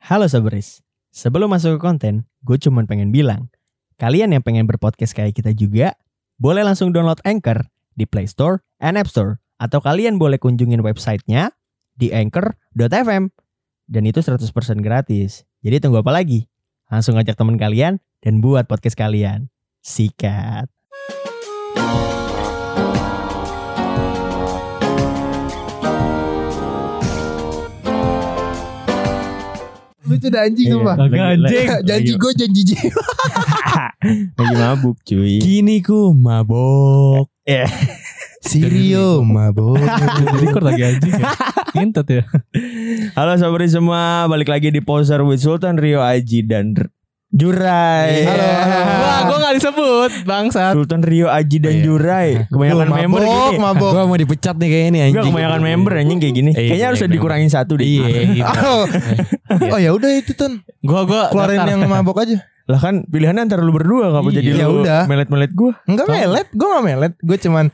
Halo Soberis, sebelum masuk ke konten, gue cuma pengen bilang, kalian yang pengen berpodcast kayak kita juga, boleh langsung download Anchor di Play Store and App Store. Atau kalian boleh kunjungin websitenya di anchor.fm. Dan itu 100% gratis. Jadi tunggu apa lagi? Langsung ajak teman kalian dan buat podcast kalian. Sikat. Lu tuh udah anjing tuh, Pak. Agak anjing. Janji gue janji jiwa. Lagi mabuk cuy. Gini ku mabok. Sirio mabok. Record lagi anjing ya. Ngentot ya. Halo Soberis semua, balik lagi di Poser with Sultan, Rio, Aji, dan Jurai. Halo. Wah, gue gak disebut bangsat. Sultan, Rio, Aji, dan Jurai. Kebanyakan member gini. Mabok. Gue mau dipecat nih kayaknya nih anjing. Enggak, kebanyakan member anjing kayak gini. Kayaknya harus dikurangin satu deh. Iya gitu. Oh ya udah itu Ton. Gue Keluarin yang mabok aja. Lah kan pilihannya antara lu berdua, ngapa Iya. jadi Ya lu udah. melet-melet gue? Enggak melet, gue enggak melet. Gue cuman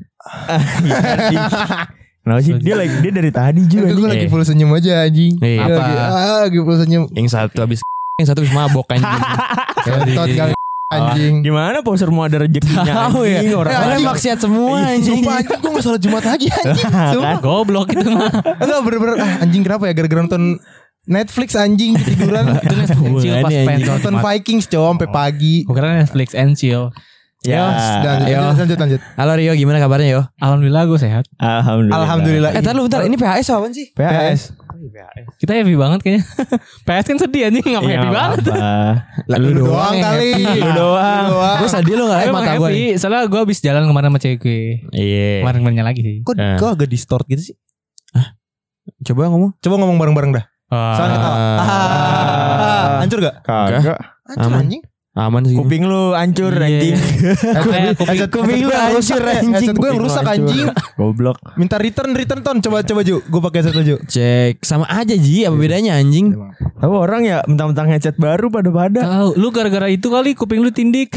Kenapa sih? Dia dari tadi juga gue nih. lagi full senyum aja anjing. Iya. Gua lagi full senyum. Yang satu habis mabok anjing. Kentot kali anjing. Gimana poser mau ada rezekinya Tahu ya. anjing, orang Ya, Orang anjing. maksiat semua anjing. Sumpah anjing gue gak salah Jumat lagi anjing. Sumpah. Goblok itu mah. Enggak bener-bener anjing kenapa ya gara-gara nonton Netflix anjing ketiduran. Itu Netflix and chill pas pengen Nonton Vikings cow sampai pagi. Gue kira Netflix and chill. Ya. Lanjut. Halo Rio, gimana kabarnya yo? Alhamdulillah gue sehat. Alhamdulillah. Bentar ini PHS apaan sih? PS. Kita happy banget kayaknya. PS kan sedih anjing, ngapa Iya, happy banget? Lu doang kali. Lu doang. Gue sedih lo gak? Emang Mata gue happy. soalnya gue habis jalan kemarin sama cewek gue. Iya. Kemarin lagi sih. Kok agak distort gitu sih? Coba ngomong. Coba ngomong bareng-bareng dah. Soalnya ketawa. Hancur gak? Kagak. Hancur Aman. anjing. Aman sih. Kuping lu hancur anjing. Kuping lu hancur anjing. Headset gue yang rusak anjing. Goblok. Minta return Ton. Coba Ju. Gue pakai headset Ju. Cek sama aja Ji, apa bedanya anjing? Tahu orang ya mentang-mentang headset baru pada. Tahu, lu gara-gara itu kali kuping lu tindik.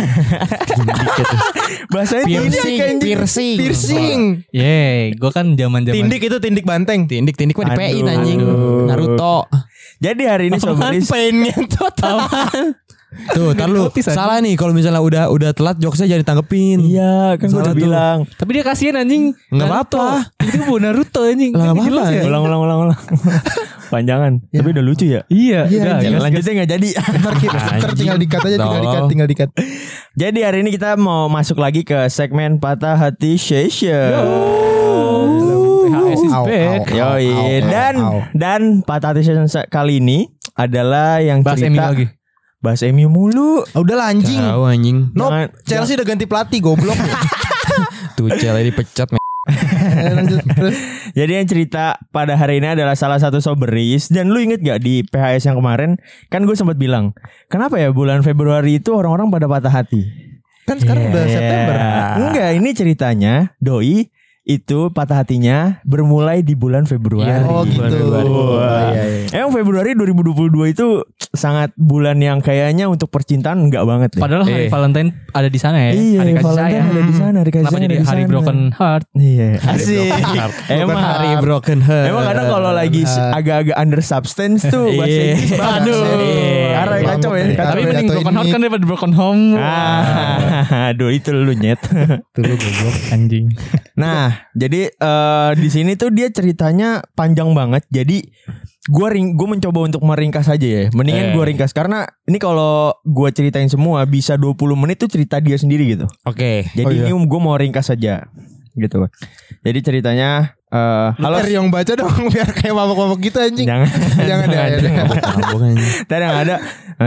Bahasanya Piercing. Ye, gue kan zaman-zaman Tindik itu tindik banteng. tindik mah dipein Aduh. anjing. Naruto. Jadi hari ini Soberis Pain ngentot. Tuh, tar lu salah nih kalau misalnya udah telat jokesnya jangan ditanggepin. iya kan gue Salah udah tuh. bilang. Tapi dia kasihan anjing. Nggak Naruto. apa-apa. Itu bu Naruto anjing. Lah, nggak apa-apa. Jelas ya? Ulang. Panjangan. Tapi udah lucu ya. Iya, Iya, udah. anjing. Lanjutnya gak jadi. Ntar tinggal dikat aja. Tinggal dikat. Jadi hari ini kita mau masuk lagi ke segmen Patah Hati Session. PHS is Au, back. au. Yoi. Dan Patah Hati Session kali ini adalah yang Bahas MU cerita lagi. bahas MU mulu. Udahlah anjing. Tahu anjing. Jangan- Chelsea udah ganti pelatih goblok. Tuh Cel dipecat. Lanjut terus. Jadi yang cerita pada hari ini adalah salah satu Soberis. Dan lu inget gak di PHS yang kemarin, kan gue sempat bilang, kenapa ya bulan Februari itu orang-orang pada patah hati? Kan sekarang udah September. Enggak, ini ceritanya Doi itu patah hatinya bermulai di bulan Februari. Oh gitu. Wah. Iya. Emang Februari 2022 itu sangat bulan yang kayaknya untuk percintaan enggak banget deh. Padahal hari Valentine ada di sana ya. Iya, hari kasih Valentine sayang. ada di sana, hari kasih Kenapa sayang jadi ada di hari sana. broken heart? Iya, asik. Bukan hari broken heart. Emang kadang kalau lagi agak-agak under substance tuh bahasa Iya. Inggris banget. Aduh. Karena kacau ya. Tapi Kacau Tapi ya. mending jatuhin broken heart mic. kan daripada broken home. Aduh itu lu nyet. Tuh lu goblok anjing. Nah, jadi di sini tuh dia ceritanya panjang banget. Jadi gue mencoba untuk meringkas aja ya. Mendingan gue ringkas karena ini kalau gue ceritain semua bisa 20 menit tuh cerita dia sendiri gitu. Oke. Jadi ini gue mau ringkas aja gitu. Jadi ceritanya halo Halo yang baca dong biar kayak mabok-mabok gitu anjing. jangan Jangan ya. tadi yang ada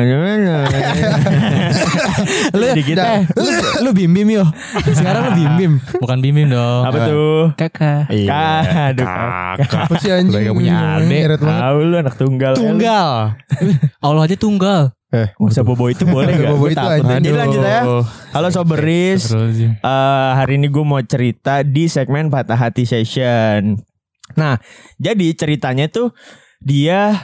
sedikit Lu bim-bim yo. Sekarang lu bim-bim. Bukan bim-bim dong. apa tuh Kakak. aduh Apa sih anjing? Udah gak punya adik. Nyeret banget. tahu lu anak tunggal Tunggal. Allah aja tunggal. Usah bobo itu boleh gak? Bobo Gua itu takut. anjing. Jadi lanjut ya. Halo Soberis. Hari ini gue mau cerita di segmen Patah Hati Session. Nah, jadi ceritanya tuh dia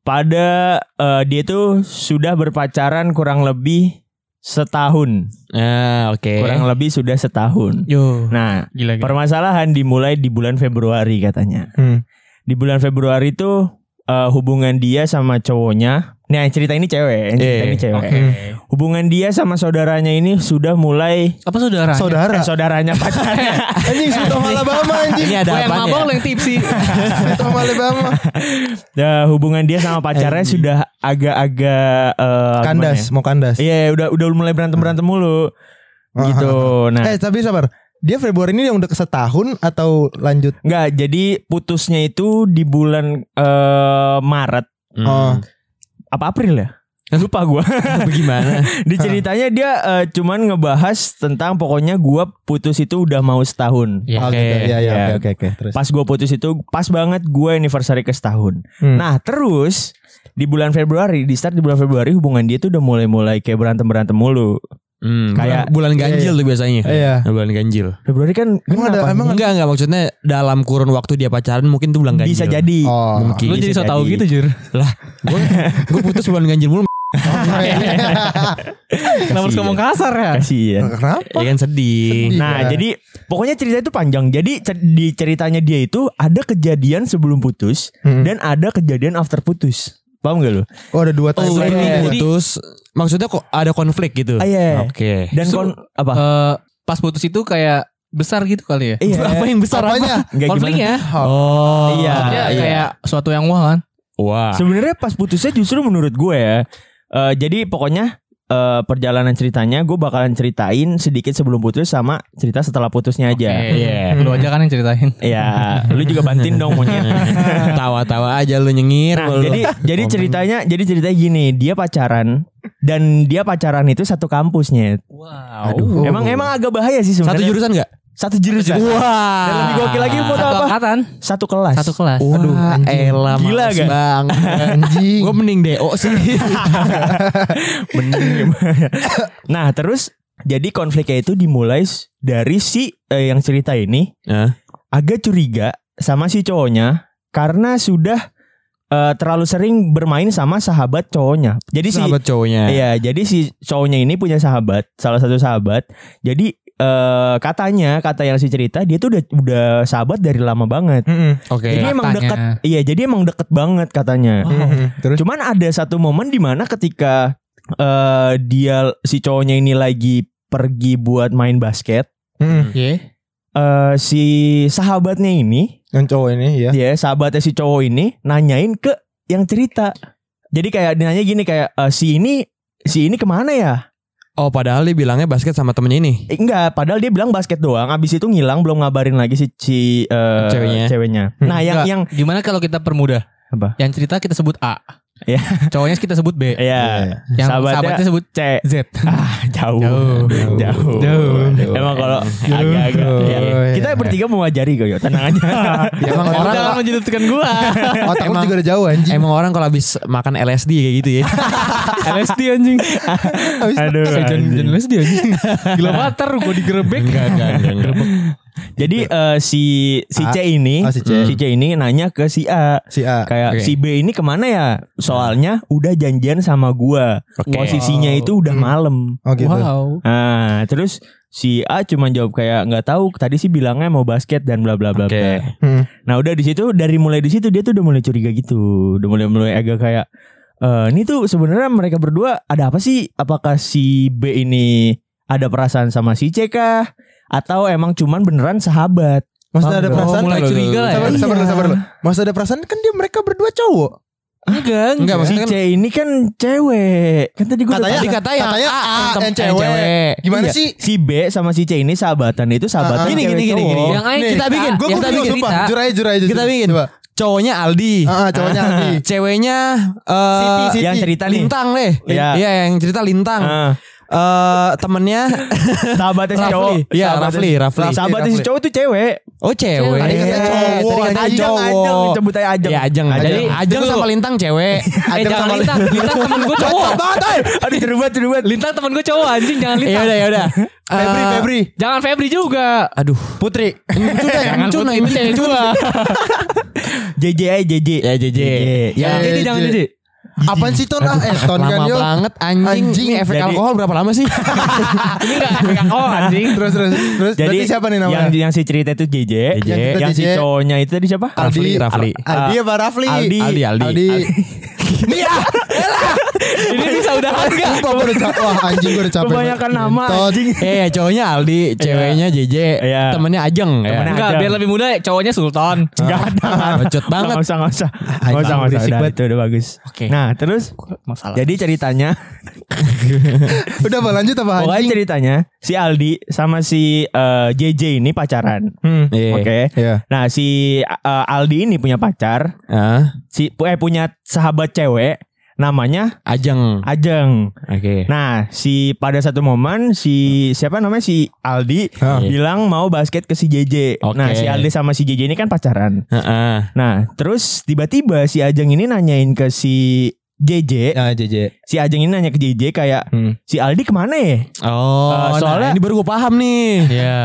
tuh sudah berpacaran kurang lebih setahun. Oke. Kurang lebih sudah setahun. Yo. Nah, Gila. permasalahan dimulai di bulan Februari katanya. Di bulan Februari tuh hubungan dia sama cowoknya. Nah, yang cerita ini cewek, Hubungan dia sama saudaranya ini sudah mulai Apa saudaranya? saudaranya pacarnya. Anjing Sweet Home Alabama anjing. Ini ada Gue yang apaan mabok ya? lo yang tipsi. Sweet Home Alabama. Hubungan dia sama pacarnya sudah agak-agak Kandas, mau kandas. Iya, udah mulai berantem mulu. Gitu. Nah, Tapi sabar. Dia Februari ini yang udah setahun atau lanjut? enggak, jadi putusnya itu di bulan Maret. Oh. Apa April ya? Lupa gue. Bagaimana? Di ceritanya dia cuman ngebahas tentang pokoknya gue putus itu udah mau setahun. Ya, Oh, gitu. Ya. Iya, oke. Terus. Pas gue putus itu pas banget gue anniversary ke setahun. Nah terus di bulan Februari, di bulan Februari hubungan dia tuh udah mulai kayak berantem mulu. Kayak bulan ganjil tuh biasanya. Iya. Bulan ganjil. Februari kan Emang Enggak maksudnya dalam kurun waktu dia pacaran mungkin tuh bulan ganjil. bisa jadi. Oh. Mungkin. Lu jadi bisa so tau jadi. gitu Jur. Gue putus bulan ganjil mulu. Kenapa harus ngomong kasar ya? Kasian. Kenapa? Ya kan sedih. Nah, Iya. jadi pokoknya cerita itu panjang. Jadi di ceritanya dia itu ada kejadian sebelum putus dan ada kejadian after putus. Paham gak lu? Oh, ada 2 timeline. Ini Jadi- putus. Maksudnya kok ada konflik gitu. Iya. Oke. Dan apa? Pas putus itu kayak besar gitu kali ya? Iya. Apa yang besar Apanya? Nggak gimana? Konfliknya. Oh. Iya. Maksudnya kayak suatu yang wah kan? Wah. Sebenarnya pas putusnya justru menurut gue ya. Jadi pokoknya perjalanan ceritanya gue bakalan ceritain sedikit sebelum putus sama cerita setelah putusnya aja. Iya. Lu aja kan yang ceritain. Iya, lu juga bantuin dong monyet. Tawa-tawa aja lu nyengir. Nah, lu. jadi ceritanya gini, dia pacaran dan dia pacaran itu satu kampusnya. Wow. Aduh. Emang agak bahaya sih satu sebenarnya. jurusan enggak? Satu jurusan. Wah. Dan lebih gokil lagi mau Satu apa? angkatan. Satu kelas. Satu kelas. Wah, elah Gila males gak? banget. Anjing. Gue mending DO sih. Bener gimana? Nah, terus jadi konfliknya itu dimulai dari si yang cerita ini agak curiga sama si cowoknya karena sudah terlalu sering bermain sama sahabat cowoknya. Jadi Sahabat cowoknya. Iya, jadi si cowoknya ini punya sahabat, salah satu sahabat. Jadi kata yang si cerita dia tuh udah sahabat dari lama banget. Oke. Jadi emang Katanya. dekat. Iya, jadi emang deket banget katanya. Terus Cuman ada satu momen di mana ketika si cowoknya ini lagi pergi buat main basket, Oke. si sahabatnya ini, yang cowok ini ya. dia sahabatnya si cowok ini nanyain ke yang cerita. Jadi kayak nanya gini kayak si ini kemana ya? Oh, padahal dia bilangnya basket sama temennya ini. Enggak, padahal dia bilang basket doang. Abis itu ngilang belum ngabarin lagi si ceweknya. Nah, yang Gimana kalau kita permudah? apa? Yang cerita kita sebut A. Ya. Cowoknya kita sebut B. Iya. Yang Sahabatnya sahabatnya sebut C. Z. Jauh. Emang kalau agak-agak ya. Kita bertiga mau ngajari kok, yo. Tenang aja. Emang orang Jangan menjelutkan gua. Otak lu Emang- juga udah jauh anjing. emang orang kalau habis makan LSD kayak gitu ya. LSD anjing. Aduh. Jangan anjing. LSD anjing. Gila bater gua digerebek. Enggak. Jadi si C ini, Oh, si C. si C ini nanya ke si A. Si A. Kayak Oke. si B ini kemana ya? Soalnya udah janjian sama gua. Oke. Posisinya itu udah malam. Oh gitu. Wow. Nah, terus si A cuma jawab kayak nggak tahu. Tadi sih bilangnya mau basket dan bla bla bla. Oke. bla. Nah, udah di situ mulai di situ dia tuh udah mulai curiga gitu. Udah mulai agak kayak ini tuh sebenarnya mereka berdua ada apa sih? Apakah si B ini ada perasaan sama si C kah? Atau emang cuman beneran sahabat? Maksudnya ada Oh, perasaan? mulai curiga lah ya. Sabar lu. Maksudnya ada perasaan kan dia mereka berdua cowok. Enggak. Enggak, Si maksudnya C ini kan cewek. Kan tadi gue Katanya yang cewek. Gimana Iya. sih? Si B sama si C ini sahabatan itu sahabatan Gini, cewek gini. cowok. Yang ayo Kita bikin. Gue Yang kita bingung bikin. sumpah. cerita. Jujur aja. Kita bikin. Coba. Cowoknya Aldi. Cowoknya Aldi. Ceweknya Siti. Yang cerita nih. Lintang deh. Iya. Iya, yang cerita Lintang. Temennya Sahabatnya si cowok. Rafli. Iya, Rafli. Sahabatnya si cowok tuh cewek. Oh, cewek. Tadi katanya cowok. Tadi katanya Ajeng, cowok. sebut aja Ajeng. Ya, Ajeng. Jadi Ajeng sama Lintang cewek. Jangan Lintang. Lintang temen gue cowok. Aduh cerubat. Lintang temen gue cowok anjing. Jangan Lintang. Ya udah. Febri. Jangan Febri juga. Aduh. Putri. Jangan Putri itu cewek gua. JJ aja JJ. Ya JJ. Ya. Jangan Jadi jangan jadi. Apaan sih Ton? Ton kan Lama yo. banget anjing. Ini efek Jadi- alkohol berapa lama sih? Ini enggak efek alkohol anjing. Terus Jadi berarti siapa nih namanya? yang si cerita itu JJ, Yang kita yang si JJ. cowoknya itu tadi siapa? Rafli. Aldi apa Rafli? Aldi. Nih ah, Ini bisa udahan enggak? sumpah gue udah capek. Wah anjing gue udah capek. Kebanyakan nama Ngentot. anjing. Cowoknya Aldi, ceweknya JJ, Iya. temennya Ajeng ya. Temennya Enggak, Ajeng. biar lebih mudah cowoknya Sultan. Enggak ada. Bacot banget. Enggak usah. Enggak usah. berisik Udah, banget. itu udah bagus. Oke. Nah, terus Masalah. jadi ceritanya Udah mau lanjut apa pokoknya anjing? ceritanya si Aldi sama si JJ ini pacaran. Iya. Oke. Iya. Nah, si Aldi ini punya pacar, punya sahabat cewek namanya Ajeng. Ajeng. Oke. Nah, pada satu momen siapa namanya si Aldi bilang mau basket ke si JJ. Oke. Nah, si Aldi sama si JJ ini kan pacaran. Heeh. Nah, terus tiba-tiba si Ajeng ini nanyain ke si JJ. Nah JJ. Si Ajeng ini nanya ke JJ kayak si Aldi kemana ya? Oh, soalnya- nah, ini baru gue paham nih. Iya.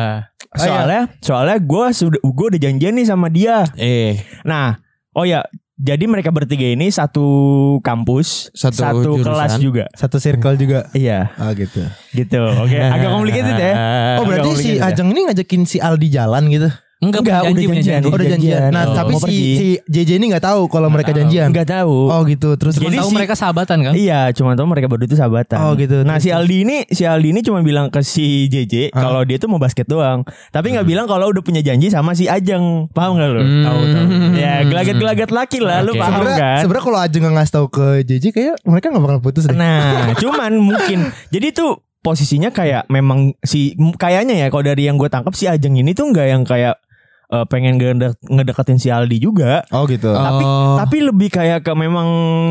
Soalnya gue udah janjian nih sama dia. Nah, oh ya, jadi mereka bertiga ini satu kampus, Satu satu jurusan. kelas juga. Satu circle juga. Iya, Ah gitu. gitu. Oke, agak complicated ya. Oh berarti Agak si complicated ya. Ajeng ini ngajakin si Aldi jalan gitu. Enggak, udah janjian. Oh, udah janjian. Nah Oh, tapi mau pergi. si JJ ini nggak tahu kalau mereka janjian. Nggak tahu. Oh gitu. Terus Jadi Tahu si- mereka sahabatan kan? Iya, cuma tahu mereka berdua itu sahabatan. Oh, gitu. Nah, si Aldi ini cuma bilang ke si JJ kalau dia tuh mau basket doang. Tapi nggak bilang kalau udah punya janji sama si Ajeng. Paham nggak lu? Tahu. Ya, gelagat-gelagat laki lah, lu Oke. paham kan? sebenarnya kalau Ajeng nggak ngasih tahu ke JJ kayak mereka nggak bakal putus deh. Nah, cuman mungkin jadi tuh posisinya kayak memang kayaknya ya kalau dari yang gue tangkap si Ajeng ini tuh nggak yang kayak pengen ngedeketin si Aldi juga. Oh gitu. Tapi lebih kayak ke memang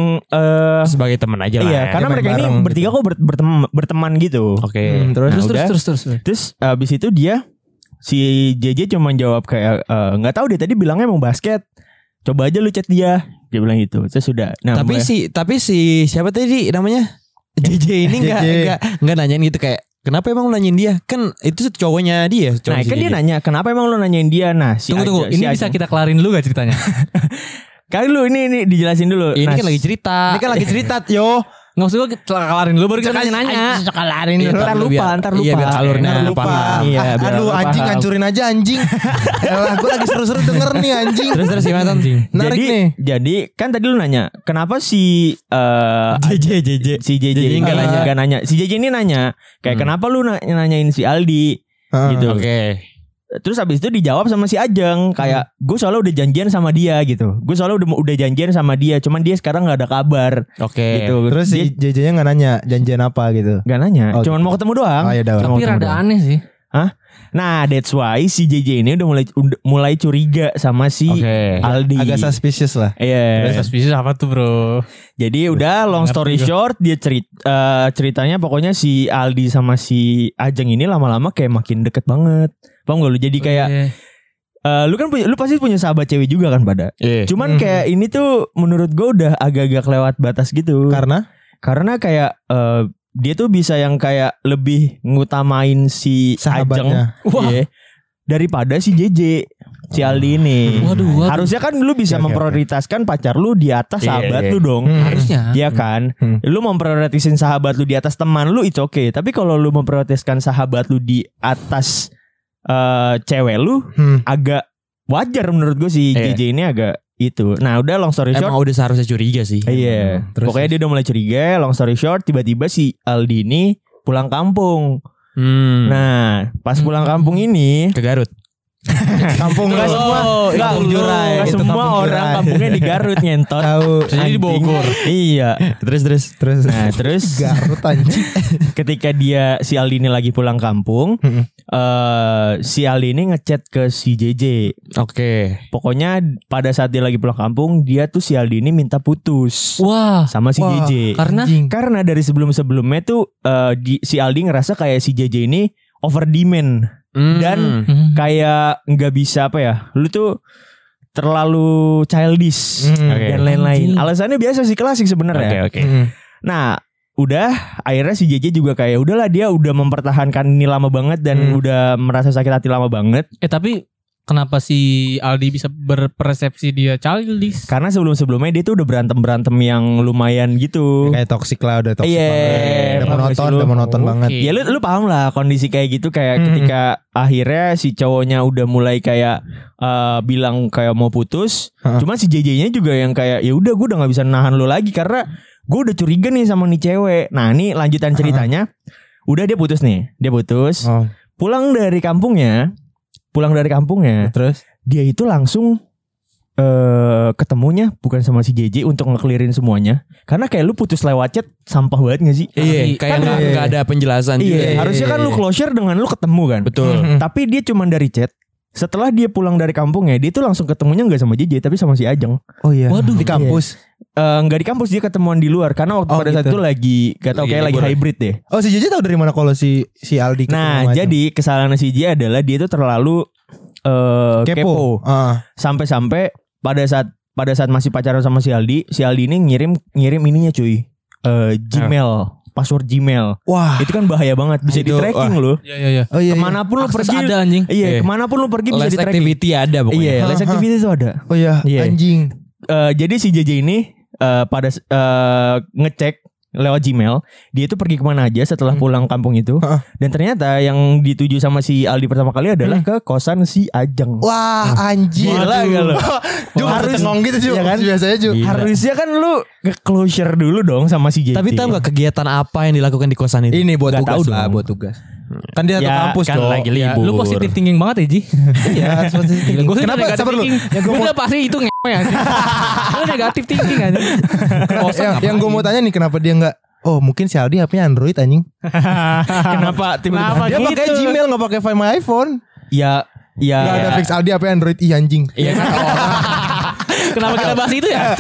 Sebagai teman aja lah. iya, ya. karena main mereka ini bareng bertiga kok berteman gitu. Oke. Terus Nah, udah. Terus. Terus abis itu dia si JJ cuma jawab kayak nggak tahu dia tadi bilangnya mau basket. Coba aja lu chat dia. Dia bilang gitu. Terus sudah. Nah, Tapi si siapa tadi namanya? JJ ini JJ. enggak nanyain gitu kayak kenapa emang lu nanyain dia? Kan itu cowoknya dia. nah kan dia nanya kenapa emang lu nanyain dia. Nah si Tunggu. si Ini bisa kita kelarin dulu gak ceritanya? Kali lu ini dijelasin dulu. Ini Nah, kan lagi cerita. ini kan lagi cerita yo. Nggak usah gue kelarin dulu baru kita nanya. Sekalarin Iya, ntar lupa. Iya biar alurnya Ntar lupa. paham. Iya, biar Aduh apa anjing paham. hancurin aja anjing. Elah gue lagi seru-seru denger nih anjing. Terus gimana Ton? Narik jadi, nih. Jadi kan tadi lu nanya kenapa si JJ. si JJ nggak nanya. Si JJ ini nanya kayak kenapa lu nanyain si Aldi gitu. Oke. Terus habis itu dijawab sama si Ajeng kayak gue soalnya udah janjian sama dia gitu. Gue soalnya udah janjian sama dia, cuman dia sekarang nggak ada kabar Oke. gitu. Terus dia si JJ-nya nggak nanya janjian apa gitu. nggak nanya, Oh, cuman mau ketemu doang. Oh ya udah. Tapi rada aneh sih. Nah, that's why si JJ ini udah mulai curiga sama si Oke. Aldi. Agak suspicious lah. Iya. Suspicious apa tuh bro? Jadi udah long story short dia ceritanya pokoknya si Aldi sama si Ajeng ini lama-lama kayak makin deket banget. Paham gak lu? Jadi kayak lu pasti punya sahabat cewek juga kan pada. Iya. Cuman kayak ini tuh menurut gue udah agak-agak lewat batas gitu. Karena kayak dia tuh bisa yang kayak lebih ngutamain si Sahabatnya. Ajeng iya, daripada si JJ, si Aldi ini. Waduh. Harusnya kan lu bisa Oke. memprioritaskan pacar lu di atas Iya, sahabat iya. lu dong. Harusnya. Iya kan? Lu memprioritaskan sahabat lu di atas teman lu it's okay. Tapi kalau lu memprioritaskan sahabat lu di atas cewek lu agak wajar menurut gue si Iya. JJ ini agak itu. Nah, udah long story short. Emang udah seharusnya curiga sih. Iya. Terus- Pokoknya dia udah mulai curiga. Long story short, tiba-tiba si Aldi ini pulang kampung. Nah, pas pulang kampung ini Ke Garut. Kampung Nggak lu. semua, Kampung Jurai. nggak Itu semua kampung orang Jurai. kampungnya di Garut nyentot. Tahu. Jadi di Bogor. Iya. Terus. Nah, terus Garut anjing. ketika si Aldi ini lagi pulang kampung, si Aldi ini ngechat ke si JJ. Oke. Pokoknya pada saat dia lagi pulang kampung, dia tuh si Aldi ini minta putus Wah. sama si Wah, JJ. Karena Karena dari sebelum-sebelumnya tuh si Aldi ngerasa kayak si JJ ini over demand dan kayak nggak bisa apa ya, lu tuh terlalu childish Oke. dan lain-lain. Anjing. Alasannya biasa sih klasik sebenarnya. Oke. Nah, udah akhirnya si JJ juga kayak udahlah dia udah mempertahankan ini lama banget dan udah merasa sakit hati lama banget. tapi kenapa si Aldi bisa berpersepsi dia childish? Karena sebelum-sebelumnya dia tuh udah berantem yang lumayan gitu. Kayak toksik lah, udah toksik Iya, banget. paham gak sih lu? Udah monoton Oke. banget. Ya lu paham lah kondisi kayak gitu, kayak ketika akhirnya si cowoknya udah mulai kayak bilang kayak mau putus. Cuman si JJ-nya juga yang kayak ya udah gue udah nggak bisa nahan lu lagi karena gue udah curiga nih sama nih cewek. Nah ini lanjutan ceritanya. Udah dia putus nih, Oh, pulang dari kampungnya. terus? Dia itu langsung ketemunya bukan sama si JJ untuk ngeklirin semuanya. Karena kayak lu putus lewat chat sampah banget gak sih? Iya, kayak nggak ada penjelasan. Iya, juga. harusnya kan lu closure dengan lu ketemu kan. Betul. Tapi dia cuman dari chat. Setelah dia pulang dari kampungnya, dia tuh langsung ketemunya nggak sama JJ tapi sama si Ajeng. Oh iya. Waduh, di kampus. Nggak di kampus, dia ketemuan di luar karena waktu pada saat gitu. itu lagi gak tau kayak lagi hybrid deh. Oh si JJ tahu dari mana kalau si Aldi ketemu Nah, sama jadi kesalahan si JJ adalah dia tuh terlalu Ajeng? kepo. Sampai-sampai pada saat masih pacaran sama si Aldi ini ngirim ininya cuy. Gmail, password Gmail. Wah. Itu kan bahaya banget, bisa di Itu, tracking loh. Iya. Oh iya. Kemanapun lu Akses pergi ada anjing. Iya, kemanapun lu pergi bisa Less di tracking. activity ada pokoknya. Iya, less activity itu ada. Oh iya, Iya. anjing. Jadi si JJ ini pada ngecek lewat Gmail, dia itu pergi kemana aja setelah pulang kampung itu. Dan ternyata yang dituju sama si Aldi pertama kali adalah ke kosan si Ajeng. Wah, anjing. Gila gak lu? Ju harus ngomong gitu Ju. Iya kan? Biasanya Ju. Gila. Harusnya kan lu nge-closure dulu dong sama si JJ. Tapi tahu nggak kegiatan apa yang dilakukan di kosan itu? Ini buat Nggak tugas tahu lah, dong. buat tugas. Kan dia satu Ya, kampus kan Cok. lagi Ya, libur. Lu positif thinking banget ya Ji. Iya, positif thinking. Gue Kenapa? Sabar lu. Gue udah pasti itu ngewe anjing. Lu negatif thinking anjing. Yang gue mau tanya nih, kenapa dia nggak? Oh mungkin si Aldi HP-nya Android anjing. Kenapa tiba-tiba Dia pakai gitu? Gmail nggak pakai Find My iPhone. Ya Nggak ada fix Aldi HP Android anjing. Iya kan Kenapa kita bahas itu ya?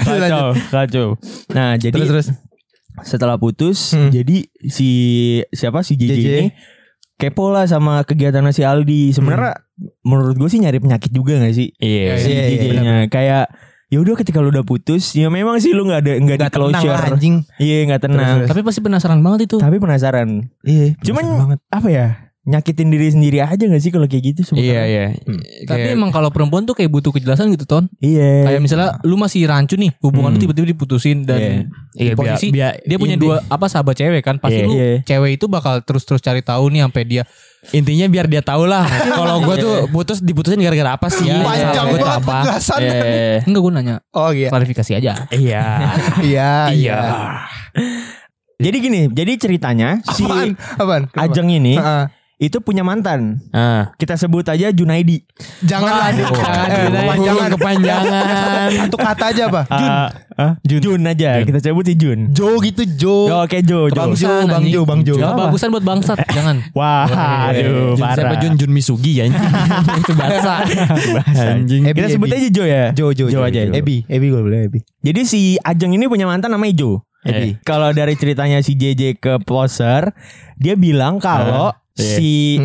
kacau. Nah, jadi Terus. setelah putus, jadi si JJ JJ. ini kepo lah sama kegiatan si Aldi. Sebenarnya menurut gue sih nyari penyakit juga gak sih? Iya. Si Iya, JJ-nya kayak ya udah ketika lu udah putus, ya memang sih lu nggak di Nggak tenang closure. lah, anjing. Iya nggak tenang. Terus. Tapi pasti penasaran banget itu. Tapi penasaran. Iya. Cuman penasaran banget. apa ya? Nyakitin diri sendiri aja gak sih kalau kayak gitu sebenarnya? Iya. Tapi emang kalau perempuan tuh kayak butuh kejelasan gitu Ton. Iya. Kayak misalnya lu masih rancu nih, hubungan lu tiba-tiba diputusin dan Iya, di posisi biar- dia punya inti- dua sahabat cewek kan. Pasti Iya. lu Iya. cewek itu bakal terus cari tahu nih sampai dia intinya biar dia tahu lah kalau gue tuh diputusin gara-gara apa sih? Panjang Salah gua tuh banget apa? penjelasannya. enggak gue nanya Oh iya. klarifikasi aja. Iya. Iya. Jadi gini, jadi ceritanya si Apaan? Kenapa? Ajeng ini Heeh. itu punya mantan. Ah. Kita sebut aja Junaidi. Jangan Jangan kepanjangan. Satu kata aja apa? Jun aja. Kita sebut si Jun. Jo gitu Jo. Oh, oke Jo. Bang Jo. Jo, Bang Jo, Bang Jo. Gak bagusan buat bangsat, jangan. Wah, aduh, Siapa parah. Jun Misugi ya? Itu bahasa. Anjing. Kita sebut aja Jo ya. Jo aja. Ebi gue boleh Ebi. Jadi si Ajeng ini punya mantan namanya Jo. Kalau dari ceritanya si JJ ke poser, dia bilang kalau si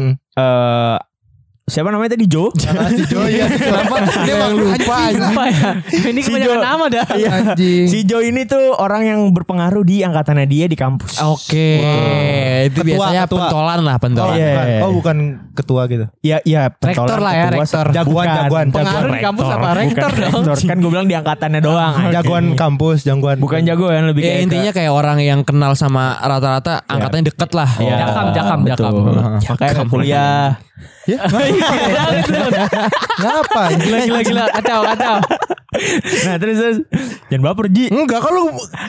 siapa namanya tadi Jo? Jo ya. Kenapa dia mah lupa anjing. Apa ya? Ini Si kebanyakan Jo. nama dah. Anjing. Si Jo ini tuh orang yang berpengaruh di angkatannya dia di kampus. Oke. Itu Ketua, biasanya ketua. pentolan lah, Oh, pentolan. Iya. bukan ketua gitu. Ya, Rektor lah ya, rektor. Jagoan. Pengaruh di kampus apa rektor dong? Kan gue bilang di angkatannya doang. Jagoan kampus, jagoan. Bukan jagoan, lebih Ya kayak intinya kayak orang yang kenal sama rata-rata angkatannya deket lah. Ya, Jakam. betul. Makanya ke kuliah. Ya, ngapa? Gila, kacau. Nah terus jangan baper Ji. Enggak, kalau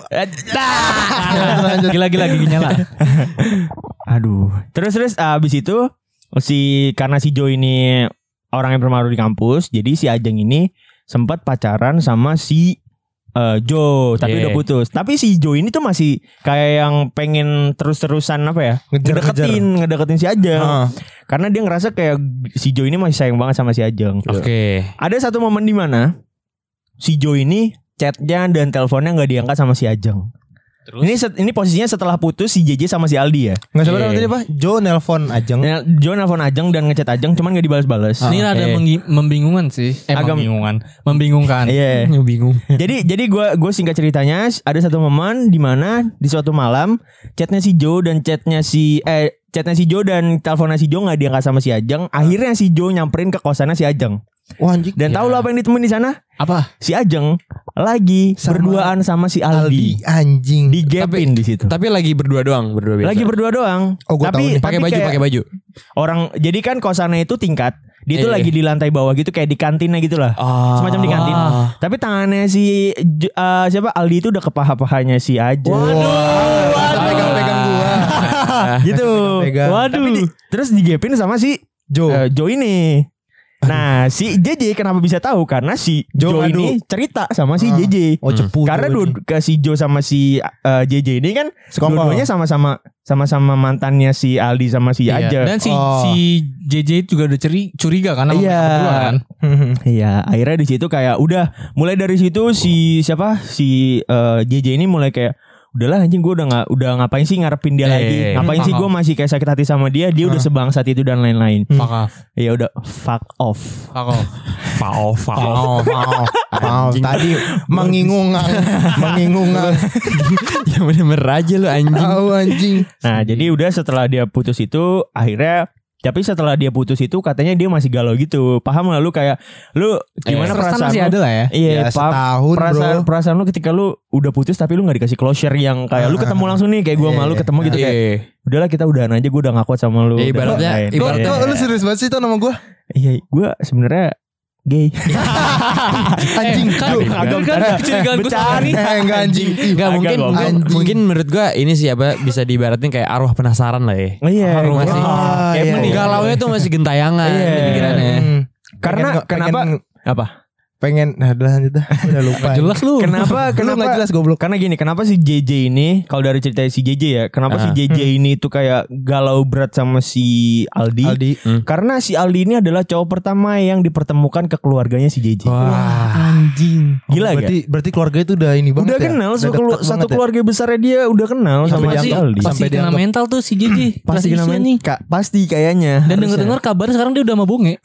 Gila giginya lah. Aduh. Terus abis itu karena si Jo ini orang yang berpengaruh di kampus, jadi si Ajeng ini sempat pacaran sama si Jo, tapi Yeah. udah putus. Tapi si Jo ini tuh masih kayak yang pengen terus-terusan apa ya? Ngedeketin si Ajeng. Karena dia ngerasa kayak si Jo ini masih sayang banget sama si Ajeng. Oke. Ada satu momen di mana si Jo ini chatnya dan teleponnya nggak diangkat sama si Ajeng. Ini posisinya setelah putus si JJ sama si Aldi ya. Enggak sabar Iya. tadi apa? Jo nelpon Ajeng. Jo nelfon Ajeng dan ngechat Ajeng, cuman nggak dibalas-balas. Ini ada membingungkan sih. Membingungkan. Iya. Bingung. Jadi gue singkat ceritanya, ada satu momen di mana di suatu malam chatnya si Jo dan chatnya chatnya si Jo dan teleponnya si Jo nggak diangkat sama si Ajeng. Akhirnya si Jo nyamperin ke kosannya si Ajeng. Wah anjing. Dan tahu lo apa yang ditemuin di sana? Apa? Si Ajeng lagi berduaan sama si Aldi. Anjing. Digepin di situ. Tapi lagi berdua doang, berdua biasa. Lagi berdua doang. Oh, gua tahu nih. pakai baju. Orang jadi kan kosannya itu tingkat. Dia tuh Iya. lagi di lantai bawah gitu kayak di kantinnya gitu lah. Semacam di kantin. Tapi tangannya si siapa Aldi itu udah ke paha-pahanya si Ajeng. Pegang-pegang gua. Gitu. Pegang. Waduh. Terus digepin sama si Jo. Jo ini. Nah, si JJ kenapa bisa tahu? Karena si Jo Jo ini cerita sama si JJ. Oh cepu. Karena ke si Jo sama si JJ ini kan Sekongkol. dua-duanya sama-sama mantannya si Aldi sama si Iya. Ajeng. Dan si JJ juga udah curiga karena Iya. berdua kan. Iya, akhirnya di situ kayak udah mulai dari situ si JJ ini mulai kayak udahlah anjing gue udah ngapain sih ngarepin dia lagi, ngapain sih gue masih kayak sakit hati sama dia udah sebangsat itu dan lain-lain. Fuck off. Ya udah fuck off. Tadi mengingungang. Ya bener-bener aja lu anjing. Tahu anjing. Nah jadi udah setelah dia putus itu akhirnya. Tapi setelah dia putus itu katanya dia masih galau gitu. Paham lah lu kayak lu gimana perasaan masih lu? ada lah ya. Iya, Ya, setahun, bro. perasaan lu ketika lu udah putus tapi lu gak dikasih closure yang kayak lu ketemu langsung nih kayak gua sama lu ketemu gitu kayak udahlah kita udahan aja, gue udah ngaku sama lu. Ibaratnya Kok lu serius banget sih tuh nama gua? Iya, gue sebenarnya gay. Anjing. Kecurigaan gue sama ini. Enggak anjing. Enggak mungkin Anjing. mungkin menurut gua ini sih apa bisa diibaratin kayak arwah penasaran lah ya. Oh iya, Arwah masih kayak iya, iya. galaunya tuh masih gentayangan Iya. di pikirannya. Karena kenapa? Apa? Pengen nah udah lanjut dah. Udah lupa. Jelas lu. Kenapa? Lu enggak jelas goblok. Karena gini, kenapa si JJ ini kalau dari cerita si JJ ya, kenapa si JJ ini tuh kayak galau berat sama si Aldi? Karena si Aldi ini adalah cowok pertama yang dipertemukan ke keluarganya si JJ. Anjing. Gila gak? Berarti keluarga itu udah ini banget Udah ya? kenal, Udah deket satu banget ya? keluarga besarnya dia udah kenal sama si Aldi. Pasti Sampai kena dianggap- mental tuh si JJ. Pasti kena nih. pasti kayaknya. Dan denger-dengar kabarnya sekarang dia udah sama bonge.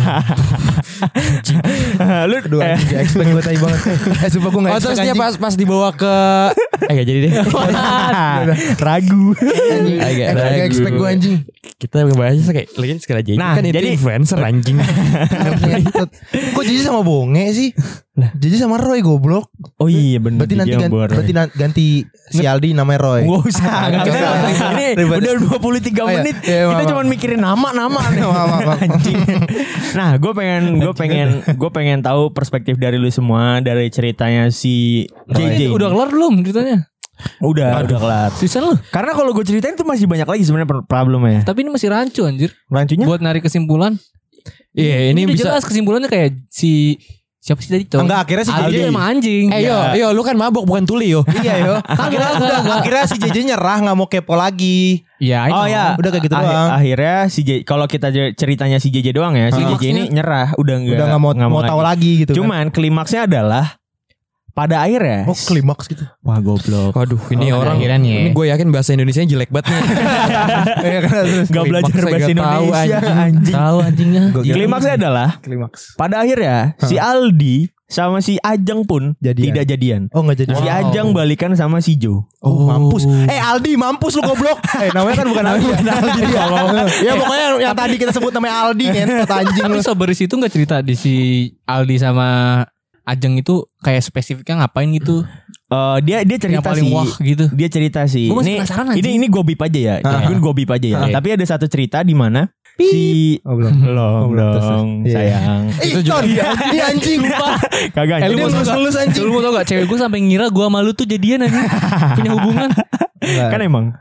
Lu Aduh anjing expect gue tadi banget. Sumpah gue gak Oh expect terus dia anjing. pas dibawa ke gak jadi deh. ragu. Gak expect gue anjing. Kita ngebahasnya kayak lagi sekali aja. Nah, Kan itu jadi- influencer anjing. Kok Jiji sama Bonge sih? Jiji sama Roy goblok. Oh iya benar. Berarti ganti si Aldi namanya Roy. Nggak usah. Ini Ribet. udah 23 Oh, iya. menit. Iya, Kita maaf. cuma mikirin nama-nama nih. Anjing. Nah, gue pengen tahu perspektif dari lu semua dari ceritanya si JJ. Udah kelar belum ceritanya? Udah kelar. Sisa lu. Karena kalau gue ceritain tuh masih banyak lagi sebenarnya problemnya. Tapi ini masih rancu anjir. Rancunya? Buat narik kesimpulan. Iya ini udah bisa. jelas kesimpulannya kayak siapa sih tadi cowok? Enggak, akhirnya si Aldi JJ. emang anjing. Yo lu kan mabok bukan tuli yo. Iya yo. Akhirnya si JJ nyerah gak mau kepo lagi. Iya, Oh ya, Udah kayak gitu doang. Akhirnya si JJ, kalau kita ceritanya si JJ doang ya, si JJ ini nyerah, udah Udah gak mau tahu lagi gitu kan. Cuman klimaksnya adalah pada akhirnya. Oh klimaks gitu. Wah goblok. Waduh ini orang akhiran ya. ini gue yakin bahasa Indonesia jelek banget nih. Iya kan terus. Gak belajar Klimaksnya bahasa gak tahu, Indonesia anjing. anjing. Tahu anjingnya. Klimaksnya adalah Klimaks. pada akhirnya si Aldi sama si Ajeng pun Jadian. tidak jadian. Oh gak jadi. Si Ajeng balikan sama si Jo. Oh mampus. Aldi mampus lu goblok. Namanya kan bukan Aldi. Aldi dia. Ya pokoknya yang tadi kita sebut namanya Aldi ngentot anjing Tapi lu. Soberis itu gak cerita di si Aldi sama Ajeng itu kayak spesifiknya ngapain gitu. Dia Yang cerita paling sih. wah gitu. Dia cerita sih. Gua masih penasaran, anjing. Ini gue bip aja ya. Ini gue bip aja ya. Tapi ada satu cerita di mana si Oh belum. belum terus. dong Iya. sayang. Itu juga dia anjing. Kagak Lu anjing. mau tau ngelus gak? anjing. Lu mau tau gak? Cewek gue sampai ngira gue sama lu tuh jadian aja. Punya hubungan. Kan emang.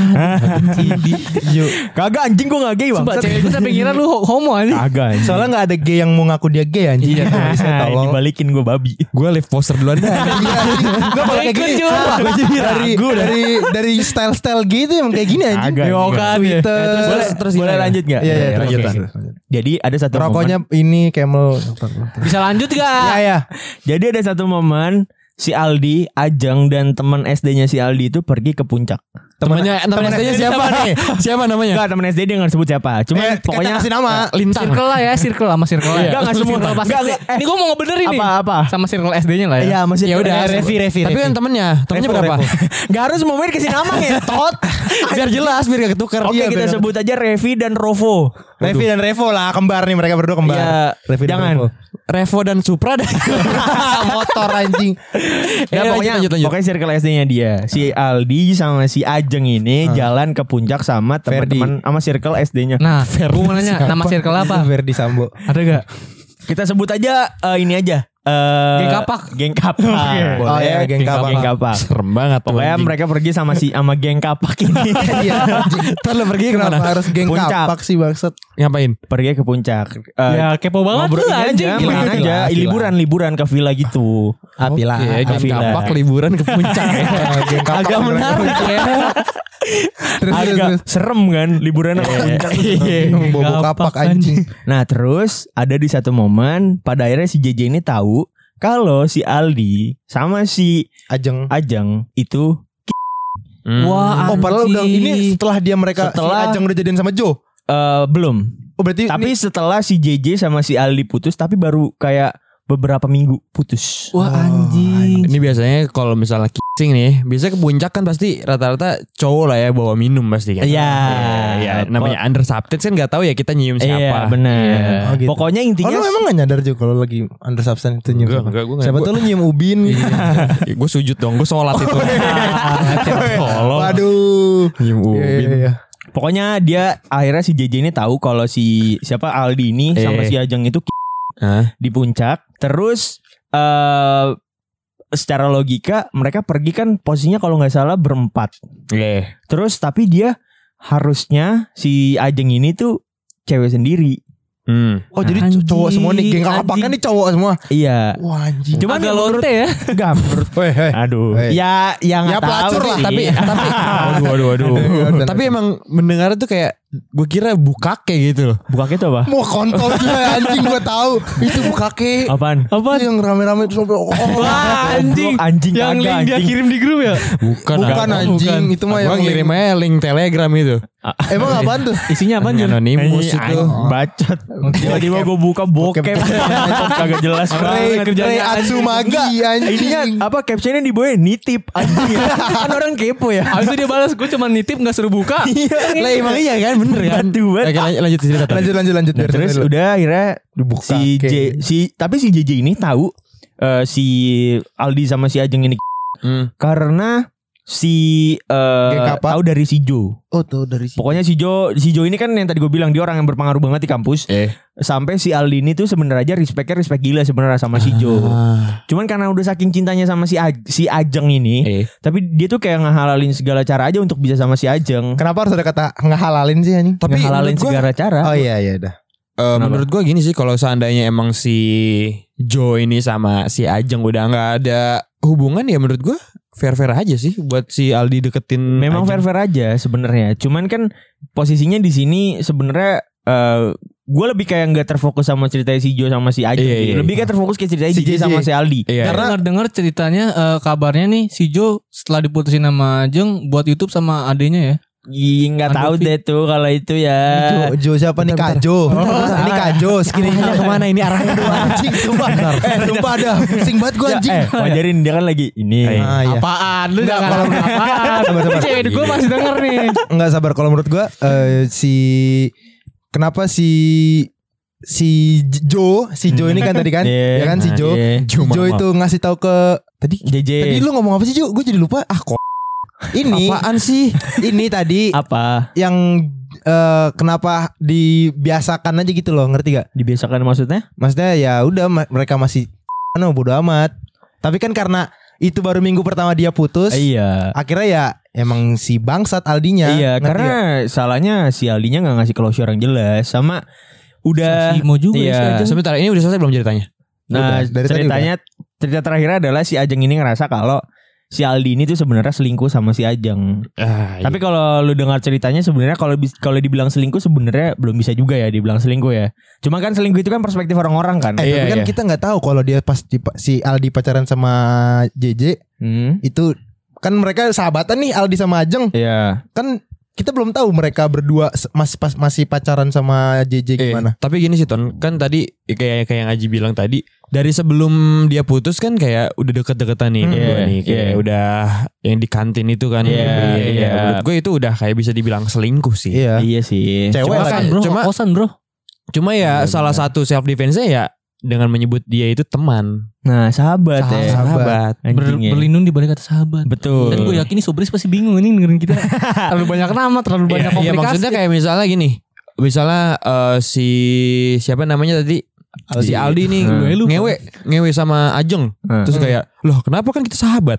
Kagak anjing gue gak gay bang. Sumpah cewek gue sampai ngira lu homo aja. Kagak anjing. Soalnya gak ada gay yang mau ngaku dia gay anjing. Iya saya tolong. Dibalikin gue babi. Gue live poster duluan dah. Gak boleh kayak gini. Gue jadi dari style gitu emang kayak gini anjing. Kagak. Yo kan. Twitter. Boleh lanjut gak? Iya Oke. lanjut. Jadi ada satu Rokoknya ini Camel. Bisa lanjut gak? Ya. Jadi ada satu momen si Aldi, Ajeng dan teman SD-nya si Aldi itu pergi ke puncak. Temennya SD-nya siapa nih? Siapa namanya? Enggak, temen SD dia nggak sebut siapa. Cuman pokoknya kasih nama. Lintang. Circle lah ya, circle sama circle lah. Enggak semua. Ini gue mau ngebenerin nih. Apa? Sama circle SD-nya lah ya. Iya, masih Ya udah, Revi. Tapi kan temennya berapa? Enggak harus mau kasih nama ya, tot. Biar jelas, biar gak ketukar. Oke, kita sebut aja Revi dan Rovo. Revi dan Revo lah, kembar nih, mereka berdua kembar. Iya, Revi dan jangan. Revo. Revo dan Supra dah. Motor anjing. Ya, lanjut. Pokoknya circle SD-nya dia. Si Aldi sama si Ajeng ini jalan ke puncak sama teman-teman sama circle SD-nya. Nah, gue mau nanya nama circle apa? Verdi Sambo. Ada gak? Kita sebut aja ini aja. Geng Kapak. Geng Kapak. Oh ya, Geng Kapak. Geng Kapak. Serem banget. Pokoknya mereka pergi sama Geng Kapak ini. Ntar lo pergi kemana? Kenapa harus Geng Puncak. Kapak sih bangsat? Ngapain? Pergi ke puncak. Ya kepo banget ngobrol lu anjing. aja, main aja. Liburan ke villa gitu. Apilah. Oke, Geng Villa. Kapak liburan ke puncak. Geng Kapak. Agak menarik ya. Agak serem kan liburan ke puncak. Bobo kapak anjing. Nah terus ada di satu momen pada akhirnya si JJ ini tahu kalau si Aldi sama si Ajeng. Ajeng itu Wah, Oh padahal udah ini setelah Setelah- si Ajeng udah jadian sama Joe. belum. Oh berarti Tapi ini, setelah si JJ sama si Aldi putus, tapi baru kayak beberapa minggu putus. Wah anjing. Ini biasanya kalau misalnya kissing nih, biasanya ke puncak kan pasti rata-rata cowok lah ya bawa minum pasti kan. Iya. Iya, namanya under substance kan nggak tahu ya kita nyium siapa. Iya benar. Oh, gitu. Pokoknya oh intinya lu emang gak nyadar juga kalau lagi under substance itu nyium siapa? Enggak, gue Siapa tuh lu nyium ubin? Gue sujud dong, gue sholat itu. Waduh. Nyium ubin. Iya. pokoknya dia akhirnya si JJ ini tahu kalau si siapa Aldi ini sama si Ajeng itu Hah? di puncak. Terus secara logika mereka pergi kan posisinya kalau nggak salah berempat. Iya. Terus tapi dia harusnya si Ajeng ini tuh cewek sendiri. Oh jadi cowok semua nih. Geng Kapak kan nih cowok semua. Iya. Wah anjing. Cuman Agak menurut lonte ya. enggak menurut Aduh. ya nggak tahu pelacur lah. sih. Tapi Aduh. tapi emang mendengar tuh kayak gue kira bukake gitu loh. buka itu apa? Mau kontol juga anjing gue tahu. Itu bukake. Apaan? Apa yang rame-rame terus sampai Wah anjing. Anjing Yang kagak, link dia anjing. kirim di grup ya. bukan anjing itu mah Gue yang ngirim aja link Telegram itu. emang apaan tuh? Isinya apaan Jun? Anonymous Anjing, itu. bacot. Tiba-tiba gue buka bokep. Kagak jelas banget Ray Atsumagi anjing. Ininya apa captionnya di bawah nitip anjing. Kan orang kepo ya. Habis itu dia balas gue cuma nitip gak suruh buka. Lah emang iya kan bener kan. Batu banget. Oke, lanjut cerita. Ton. Lanjut biar Terus dulu. udah akhirnya Dibuka, tapi si JJ ini tahu si Aldi sama si Ajeng ini karena si Geng Kapak. tahu dari si Jo. Oh tuh dari sini. Pokoknya si Jo ini kan yang tadi gue bilang dia orang yang berpengaruh banget di kampus. Sampai si Aldi ini tuh sebenarnya respect gila sebenarnya sama si Jo. Cuman karena udah saking cintanya sama si Ajeng ini, tapi dia tuh kayak ngehalalin segala cara aja untuk bisa sama si Ajeng. Kenapa harus ada kata ngehalalin sih anjing? Tapi Ngehalalin menurut gua- segala cara. Oh iya dah. menurut gue gini sih, kalau seandainya emang si Joe ini sama si Ajeng udah nggak ada hubungan, ya menurut gue fair-fair aja sih buat si Aldi deketin. Memang Ajeng. fair-fair aja sebenarnya. Cuman kan posisinya di sini sebenarnya gue lebih kayak nggak terfokus sama cerita si Jo sama si Ajeng. Iya. Lebih kayak terfokus ke cerita Si JJ JJ. sama si Aldi. Iya. Karena dengar ceritanya kabarnya nih si Jo setelah diputusin sama Ajeng buat YouTube sama adenya ya. Nggak tahu deh tuh kalau itu ya. Jo siapa nih Kajo? Ini Kajo Arahnya kemana ini arahnya? anjing sumpah. Sumpah dah. Pusing banget gue anjing. Wajarin dia kan lagi ini. Ah, iya. Apaan lu Enggak, jangan kalau- apaan. Sabar. Cewek gue masih denger nih. Enggak sabar kalau menurut gue kenapa si Jo ini kan tadi kan? Iya. Ya kan si Jo. Iya. Jo itu ngasih tahu ke tadi JJ. lu ngomong apa sih Jo? Gue jadi lupa. Ini Apaan sih? ini tadi Apa? yang kenapa dibiasakan aja gitu loh, ngerti gak? Dibiasakan maksudnya? Maksudnya ya udah mereka masih bodo amat. Tapi kan karena itu baru minggu pertama dia putus, Iya. akhirnya ya emang si bangsat Aldinya. Iya, ngerti karena gak? salahnya si Aldinya nggak ngasih closure yang jelas sama udah. Si Mo juga ya, si iya. Ajeng. Sebentar, ini udah selesai belum ceritanya? Nah, Udah, dari tadi cerita terakhir adalah si Ajeng ini ngerasa kalau si Aldi ini tuh sebenarnya selingkuh sama si Ajeng. Tapi kalau lu dengar ceritanya sebenarnya kalau dibilang selingkuh sebenarnya belum bisa juga ya dibilang selingkuh ya. Cuma kan selingkuh itu kan perspektif orang-orang kan. Tapi kan kita nggak tahu kalau dia pas si Aldi pacaran sama JJ itu kan mereka sahabatan nih Aldi sama Ajeng. Iya. Kan kita belum tahu mereka berdua masih pacaran sama JJ gimana. Tapi gini sih Ton, kan tadi kayak yang Aji bilang tadi, dari sebelum dia putus kan kayak udah deket-deketan nih berdua nih, kayak udah yang di kantin itu kan. Menurut gue itu udah kayak bisa dibilang selingkuh sih. Iya sih. Cewek Kosan bro. Cuma ya salah satu self defense-nya ya dengan menyebut dia itu teman. Nah, sahabat ya. Sahabat. Anjing ya. Berlindung di balik kata sahabat. Betul. Dan gue yakin nih Sobris pasti bingung ini dengerin kita. Terlalu banyak nama, terlalu banyak komplikasi. Iya maksudnya kayak misalnya gini. Misalnya si siapa namanya tadi? Si Aldi nih ngewe sama Ajeng. Terus kayak, "Loh, kenapa kan kita sahabat?"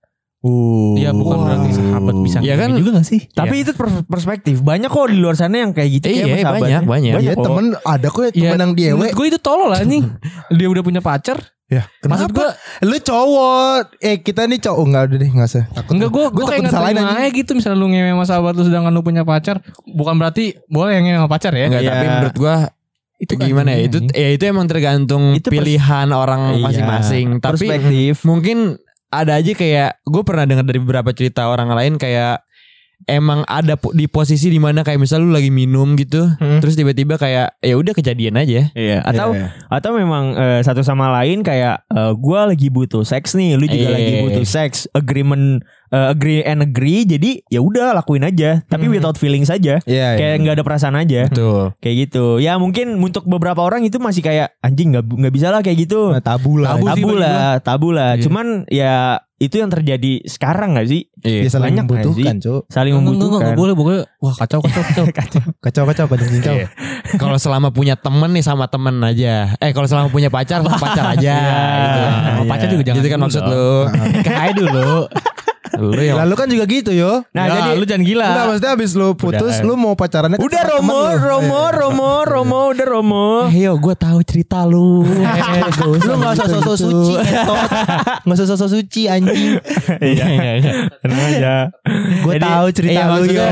Iya bukan berarti sahabat bisa ya kan juga gak sih? Tapi itu perspektif. Banyak kok di luar sana yang kayak gitu. Iya banyak. Iya temen ada kok temen yang diewe. Menurut gue itu tolol lah nih. Dia udah punya pacar. Ya Maksud gue lu cowok. Kita nih cowok. Enggak udah deh gak usah. enggak gue kayak gak terima aja gitu. Misalnya lu ngewe sama sahabat lu sedangkan lu punya pacar. Bukan berarti boleh yang ngewe sama pacar ya. Enggak, tapi menurut gue itu gimana ya? Itu emang tergantung itu pilihan orang masing-masing. Tapi perspektif. mungkin ada aja kayak gue pernah dengar dari beberapa cerita orang lain kayak emang ada di posisi dimana kayak misal lu lagi minum gitu, terus tiba-tiba kayak ya udah kejadian aja. Iya. Atau memang satu sama lain kayak gue lagi butuh seks nih, lu juga lagi butuh seks, agree and agree, jadi ya udah lakuin aja, tapi without feeling saja, kayak nggak ada perasaan aja. Betul. Kayak gitu. Ya mungkin untuk beberapa orang itu masih kayak anjing nggak bisa lah kayak gitu. Tabu lah. Tabu lah. Cuman ya itu yang terjadi sekarang gak sih? Dia saling membutuhkan, Cuk. Saling membutuhkan. Enggak boleh pokoknya. Wah kacau. Kacau cincau. Kalau selama punya temen nih sama temen aja. Kalau selama punya pacar sama pacar aja. Gitu. Pacar juga jangan. Gitu kan maksud lu. Kayak dulu. Lalu kan juga gitu yo. Nah jadi lu jangan gila. Enggak, maksudnya abis lu putus lu mau pacarannya udah Romo udah Romo. Ayo gue tahu cerita lu. Lu gak usah sosok suci entot. Gak usah sosok suci anjing. Iya. Tenang aja. Gue tahu cerita lu yo.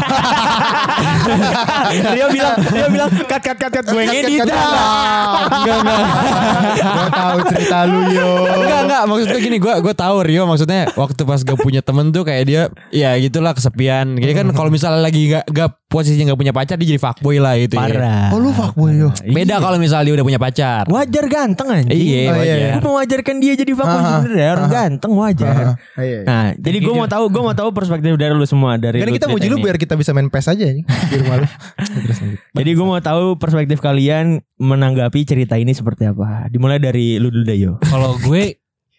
Dia bilang cut gue ngedit. Enggak. Gue tahu cerita lu yo. Enggak maksud gue gini, gue tahu Rio maksudnya waktu pas gue punya temen tuh kayak dia ya gitulah kesepian. Jadi kan kalau misalnya lagi gak posisinya gak punya pacar dia jadi fuckboy lah gitu. Parah. Oh lu fuckboy yo. Beda kalau misalnya dia udah punya pacar. Wajar ganteng anjing. Iya wajar. Gue mau wajarkan dia jadi fuckboy sebenarnya, orang ganteng wajar. Nah, jadi gue mau tahu perspektif dari lu semua dari. Kan kita muji lu biar kita bisa main PES aja nih di rumah lu. Jadi gue mau tahu perspektif kalian menanggapi cerita ini seperti apa. Dimulai dari lu dulu deh yo. Kalau gue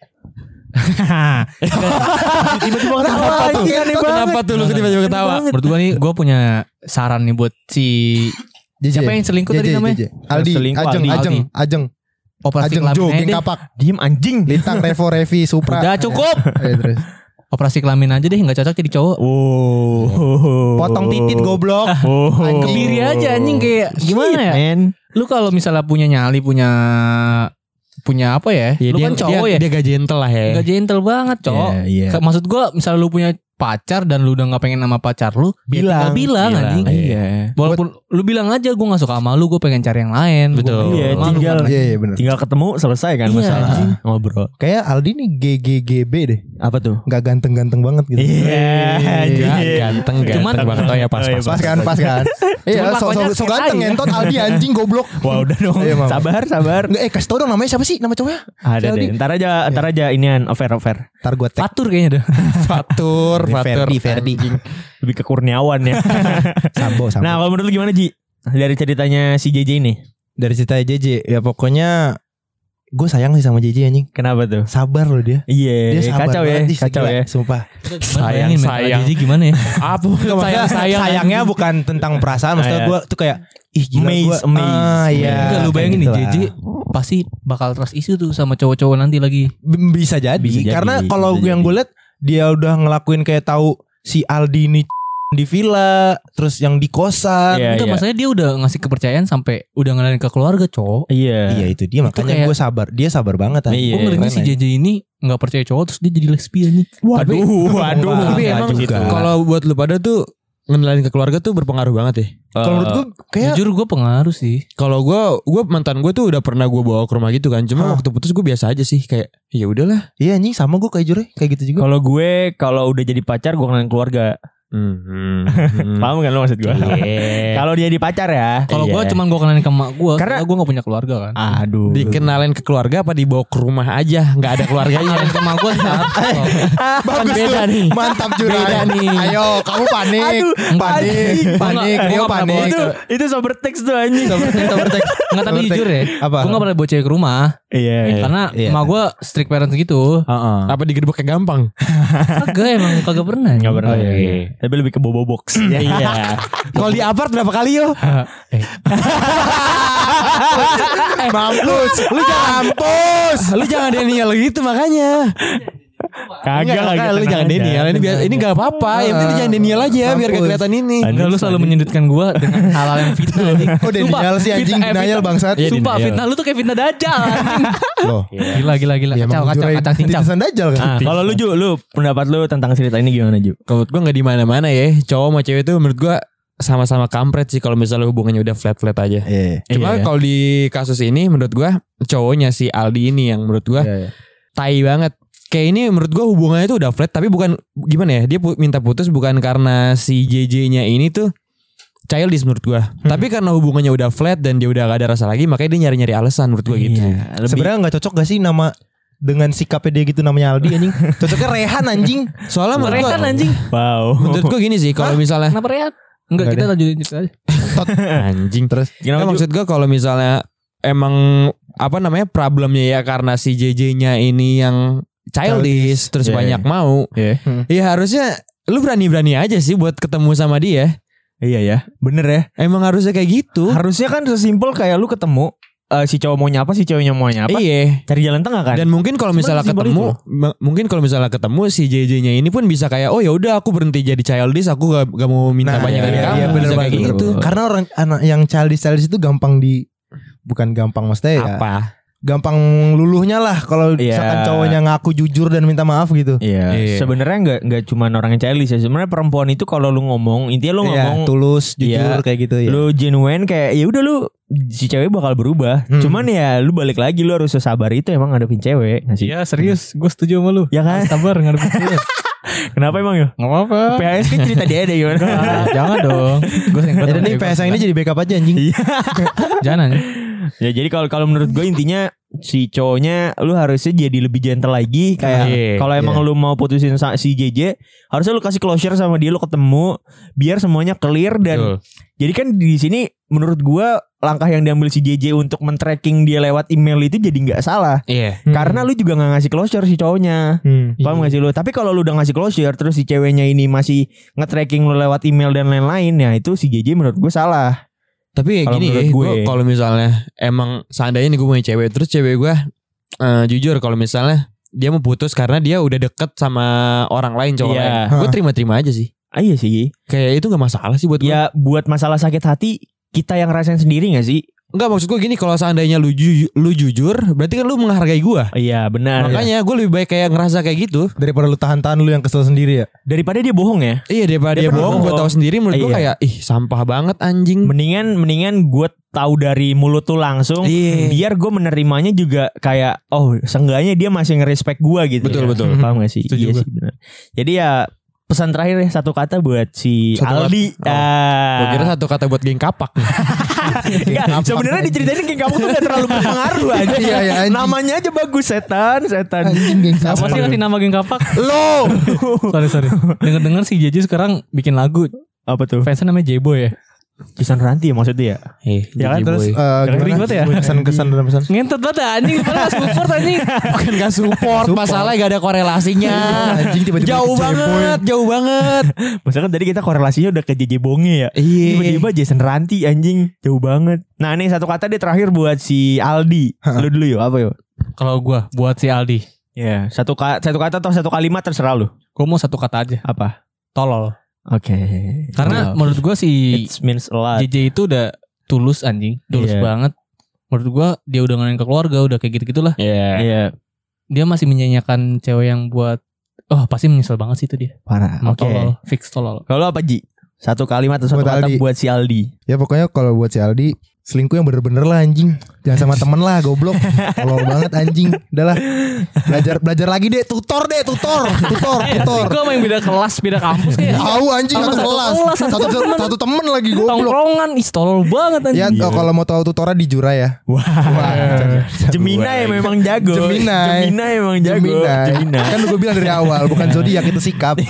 tiba-tiba ketawa tuh. Kenapa tuh lu tiba-tiba ketawa? Menurut gue nih, gue punya saran nih buat si siapa yang selingkuh tadi namanya? Aldi, Ajeng. Operasi Ajeng Jo, kelamin geng aja. kapak. Diem anjing. Lintang, Revo, Revi, Supra. Udah cukup. Terus. Operasi kelamin aja deh, nggak cocok jadi cowok. Potong titit goblok. Kebiri aja anjing kayak gimana ya? Man. Lu kalau misalnya punya nyali punya apa ya? Lu kan cowok ya. Dia gak gentle lah ya. Gak gentle banget cowok. Maksud gue misalnya lu punya pacar dan lu udah gak pengen sama pacar lu, bilang anjing. Iya. Walaupun lu bilang aja gue gak suka sama lu, gue pengen cari yang lain. Betul. Iya, bener. tinggal ketemu selesai kan masalah. Ngobrol. Kayak Aldi nih GGGB deh. Apa tuh? Gak ganteng-ganteng banget gitu. Ganteng Cuman banget. Oh ya pas. Pas kan. Iya, so ganteng entot Aldi anjing goblok. Wah udah dong. Sabar. Nggak, kasih tau dong namanya siapa sih? Nama cowoknya? Ada deh. Ntar aja inian over. Ntar gue tag. Fatur kayaknya dah. Fatur. Ferdi. Lebih ke Kurniawan ya. Sambo. Nah kalau menurut lu gimana Ji? Dari ceritanya si JJ ini. Dari cerita JJ ya pokoknya gue sayang sih sama JJ anjing. Kenapa tuh? Sabar loh dia. Iya. Dia sabar Kacau banget, Kacau gila, ya. Sumpah. Sayang. Jadi gimana ya? Apa? Sayangnya bukan tentang perasaan. Maksudnya gue tuh kayak ih gila gue. Iya. Enggak lu bayangin nih JJ pasti bakal trust issue tuh sama cowok-cowok nanti lagi. Bisa jadi. Karena kalau yang gue liat dia udah ngelakuin kayak tahu si Aldi ini di villa, terus yang di kosan. Enggak, maksudnya dia udah ngasih kepercayaan sampai udah ngenalin ke keluarga, cowok. Iya itu dia makanya gue sabar. Dia sabar banget. Gue ngerinya si JJ ini nggak percaya cowok terus dia jadi lesbian nih. Waduh. Tapi emang kalau buat lu pada tuh ngenalin ke keluarga tuh berpengaruh banget ya. Kalau menurut gue kayak Jujur gue pengaruh sih. Kalau gue mantan gue tuh udah pernah gue bawa ke rumah gitu kan. Cuma waktu putus gue biasa aja sih, kayak ya udahlah. iya anjing sama gue kayak jujur kayak gitu juga. Kalau gue kalau udah jadi pacar gue kenalin keluarga. Paham kan lo maksud gue? Kalau dia di pacar ya. Kalau gue cuman gue kenalin ke emak gue, karena gue gak punya keluarga kan. Aduh. Dikenalin ke keluarga apa dibawa ke rumah aja, nggak ada keluarganya. Kenalin ke emak gue Bagus beda tuh. nih. Mantap Jurai. Beda nih. Ayo kamu panik. Aduh, Panik. Rio panik. Itu sober teks tuh anjing. Sobertek. Enggak, tapi jujur ya. Apa? Gue gak pernah bawa cewek ke rumah. Iya. Karena emak gue strict parents gitu. Apa digerebek kayak gampang? Kagak, emang kagak pernah. Gak pernah. Oh, iya. Tapi lebih ke bobo box. Iya. Kalau di apart berapa kali yo? Mampus. Lu jangan Daniel gitu makanya. Kagak Lu jangan Daniel. Ini gak apa-apa. Yang penting jangan Daniel aja biar gak kelihatan ini. Enggak, lu selalu menyudutkan gue dengan hal-hal yang fitnah. Oh Daniel sih anjing denial bangsat. Iya, Sumpah denial. fitnah lu tuh kayak fitnah dajal. Loh. Gila. Ya, Kacau cincang. Titisan dajal kan. Kalau lu Ju, lu pendapat lu tentang cerita ini gimana Ju? Kalau menurut gue gak di mana-mana ya. Cowok sama cewek tuh menurut gue sama-sama kampret sih kalau misalnya hubungannya udah flat-flat aja. Cuma kalau di kasus ini menurut gue cowoknya si Aldi ini yang menurut gue tai banget. Kayak ini menurut gue hubungannya tuh udah flat, tapi bukan gimana ya, dia minta putus bukan karena si JJ-nya ini tuh childish menurut gue, tapi karena hubungannya udah flat dan dia udah gak ada rasa lagi, makanya dia nyari-nyari alasan menurut gue gitu. Sebenarnya nggak cocok gak sih nama dengan sikapnya dia gitu namanya Aldi anjing. Cocoknya Rehan anjing. Soalnya menurut gue, anjing. Wow. menurut gue gini sih, kalau misalnya Kenapa Rehan? Enggak, kita lanjutin cerita aja. anjing terus, Kenapa, maksud gue kalau misalnya emang apa namanya problemnya ya karena si JJ-nya ini yang childish terus banyak mau, ya harusnya lu berani-berani aja sih buat ketemu sama dia. Iya ya, bener ya. Emang harusnya kayak gitu. Harusnya kan sesimpel kayak lu ketemu si cowok maunya apa, si ceweknya maunya apa. Iya. Cari jalan tengah kan. Dan mungkin kalau misalnya Sebenarnya ketemu si JJ-nya ini pun bisa kayak oh ya udah aku berhenti jadi childish, aku gak mau minta banyak dari kamu. Iya bener Bisa kayak banget gitu. Karena orang anak yang childish itu gampang bukan gampang maksudnya ya. Apa? Gampang luluhnya lah kalau misalkan cowoknya ngaku jujur dan minta maaf gitu. Iya. Sebenarnya nggak cuma orang yang childish ya. Sebenarnya perempuan itu kalau lu ngomong, intinya lu ngomong tulus, jujur kayak gitu ya. Lu genuine kayak ya udah lu si cewek bakal berubah. Cuman ya lu balik lagi lu harus sabar itu emang ngadepin cewek. Iya serius, gue setuju sama lu. Ya kan? Sabar ngadepin cewek. Kenapa emang ya? Gak apa-apa. PS kan cerita dia ada gimana? Jangan dong. Gue Ya nih PS yang ini jadi backup aja anjing. Jangan. Ya jadi kalau menurut gue intinya si cowoknya lu harusnya jadi lebih gentle lagi kayak kalau emang lu mau putusin si JJ harusnya lu kasih closure sama dia, lu ketemu biar semuanya clear dan jadi kan di sini menurut gue langkah yang diambil si JJ untuk men-tracking dia lewat email itu jadi nggak salah. Karena lu juga nggak ngasih closure si cowoknya. Paham gak sih lu? Tapi kalau lu udah ngasih closure terus si ceweknya ini masih nge-tracking lu lewat email dan lain-lain, ya itu si JJ menurut gue salah. Tapi Kalo gini ya, gue kalau misalnya emang seandainya nih gue punya cewek, terus cewek gue jujur kalau misalnya dia mau putus karena dia udah deket sama orang lain cowok lain, gue terima-terima aja sih. Iya sih. Kayak itu gak masalah sih buat gue. Ya buat masalah sakit hati kita yang rasain sendiri gak sih? Enggak, maksud gue gini, kalau seandainya lu jujur, berarti kan lu menghargai gue. Iya benar. Makanya gue lebih baik kayak ngerasa kayak gitu Daripada lu tahan-tahan lu yang kesel sendiri ya. Daripada dia bohong ya. Iya, daripada dia bohong, gue tahu sendiri menurut gue kayak sampah banget anjing. Mendingan gue tahu dari mulut tuh langsung. Biar gue menerimanya juga kayak seenggaknya dia masih nge-respect gue gitu. Betul. Paham gak sih? Iya sih benar. Jadi ya pesan terakhir ya, satu kata buat si Aldi. Gue kira satu kata buat geng kapak. Sebenarnya diceritain geng kapak tuh gak terlalu berpengaruh aja. Iya, namanya aja bagus, setan. Anjing geng Apa sih ngasih nama geng kapak? Lo. Sorry. Dengar si JJ sekarang bikin lagu. Apa tuh? Fansnya namanya J-Boy ya. Jason Ranti ya maksudnya ya. Ya kan terus Ribet ya? Kesan dan pesan. Ngentot banget anjing. Padahal gak support anjing. Bukan gak support, masalah gak ada korelasinya. Anjing tiba-tiba Jauh banget. Maksudnya kan tadi kita korelasinya udah ke JJ Bonge ya. Tiba-tiba Jason Ranti anjing, jauh banget. Nah nih satu kata deh terakhir buat si Aldi. Lu dulu yuk, apa yuk? Kalau gue buat si Aldi. Ya, satu kata atau satu kalimat terserah lu. Gue mau satu kata aja. Apa? Tolol. Oke. Karena menurut gue si It means a lot. JJ itu udah tulus anjing. Tulus banget. Menurut gue dia udah ngenalin ke keluarga, udah kayak gitu-gitulah. Iya. Dia masih menyanyikan cewek yang buat pasti menyesal banget sih itu dia. Parah. Oke. Tolol, fix tolol. Kalau apa Ji? Satu kalimat atau satu kata buat si Aldi. Ya pokoknya kalau buat si Aldi, selingkuh yang bener-bener lah anjing. Jangan sama temen lah, goblok. Tolol banget anjing. Udahlah. Belajar lagi deh, tutor. Gue main beda kelas, beda kampus kayak. Tahu anjing satu kelas. Satu temen lagi goblok. Tongkrongan, tolol banget anjing. Ya kalau mau tahu tutornya di Jura ya. Wah. Gemini memang jago. Gemini emang jago. Gemini. Kan gue bilang dari awal, bukan zodiak itu sikap.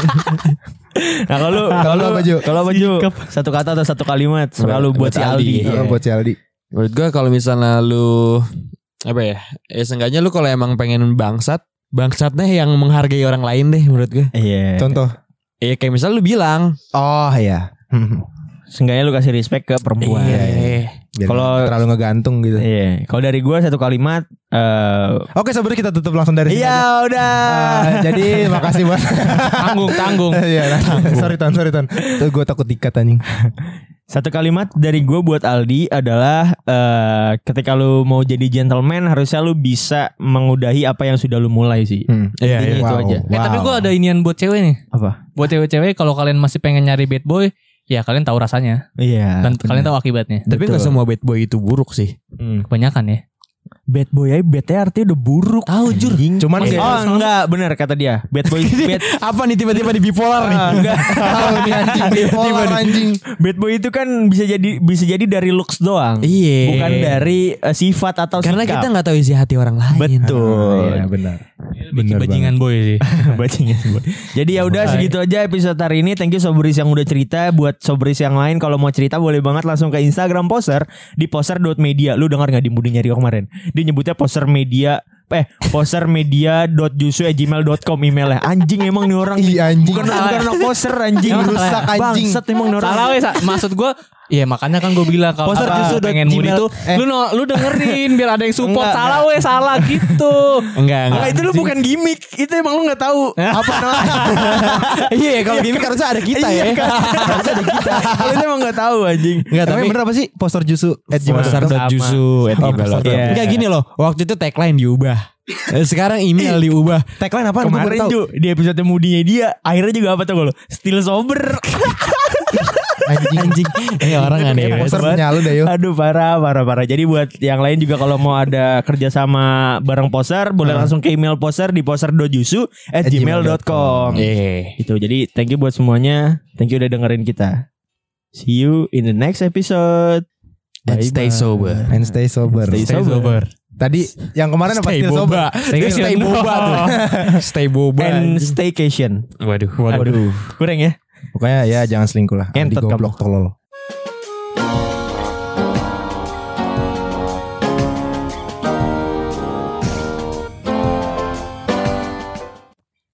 Nah kalau baju satu kata atau satu kalimat selalu buat si Aldi. Buat si Aldi. Menurut gue kalau misalnya lu apa ya? Seenggaknya lu kalau emang pengen bangsatnya yang menghargai orang lain deh menurut gue. Iya. Contoh. Kayak misalnya lu bilang, oh iya. Seenggaknya lu kasih respect ke perempuan. Kalau terlalu ngegantung gitu. Iya. Kalau dari gue satu kalimat. Oke, sebenarnya kita tutup langsung dari sini. Iya udah. Jadi makasih buat tanggung. Iya. Sorry Ton. Tuh gue takut dikat anjing. Satu kalimat dari gue buat Aldi adalah ketika lu mau jadi gentleman harusnya lu bisa mengudahi apa yang sudah lu mulai sih. Iya. Itu aja. Tapi gue ada inian buat cewek nih. Apa? Buat cewek-cewek kalau kalian masih pengen nyari bad boy, ya kalian tahu rasanya. Iya. Dan kalian tahu akibatnya. Tapi gak semua bad boy itu buruk sih. Kebanyakan ya. Bad boy aja bad artinya udah buruk. Tahu jur. Cuman enggak benar kata dia. Bad boy bad. Apa nih tiba-tiba di bipolar nih? Enggak. tahu nih anjing bipolar anjing. Bad boy itu kan bisa jadi dari looks doang. Iya. Bukan dari sifat atau karena sikap. kita nggak tahu isi hati orang lain. Betul. Iya benar. Bajingan boy sih. Bajingan boy. Jadi ya udah segitu aja episode hari ini. Thank you Sobris yang udah cerita. Buat Sobris yang lain kalau mau cerita boleh banget langsung ke Instagram Poser di poser.media. Lu dengar enggak di Budi nyari kemarin? Dia nyebutnya Poser Media. posermedia.jusu@gmail.com emailnya. Anjing emang nih orang. Iya anjing. Bukan anak poser anjing. Rusak anjing. Bangsat emang nih orang. Salah wes. Maksud gue, ya makanya kan gue bilang kalau pengen mood itu, lu dengerin biar ada yang support. Salah wes, salah gitu. Enggak. Itu lu bukan gimmick. Itu emang lu nggak tahu apa namanya. Iya, kalau gimmick harusnya ada kita ya. Harusnya ada kita. Kalau itu emang nggak tahu anjing. Enggak, tapi bener apa sih? Poster Jusu @jusu@gmail.com. Enggak gini loh. Waktu itu tagline diubah. Sekarang email diubah. Tagline apa? Kemarin Ju di episode mudinya dia akhirnya juga apa tuh lo? Still sober. Anjing. Ini orang aneh banget. Poster punya lu deh yo. Aduh parah. Jadi buat yang lain juga kalau mau ada kerjasama bareng Poser boleh langsung ke email Poser di poser.jusu@gmail.com. Itu jadi thank you buat semuanya. Thank you udah dengerin kita. See you in the next episode. And stay sober. Stay sober. Tadi yang kemarin apa? Stay boba. Stay boba tuh. Stay boba. And staycation. Waduh. Kurang ya? Pokoknya ya jangan selingkuh lah. Entot Goblok tolol.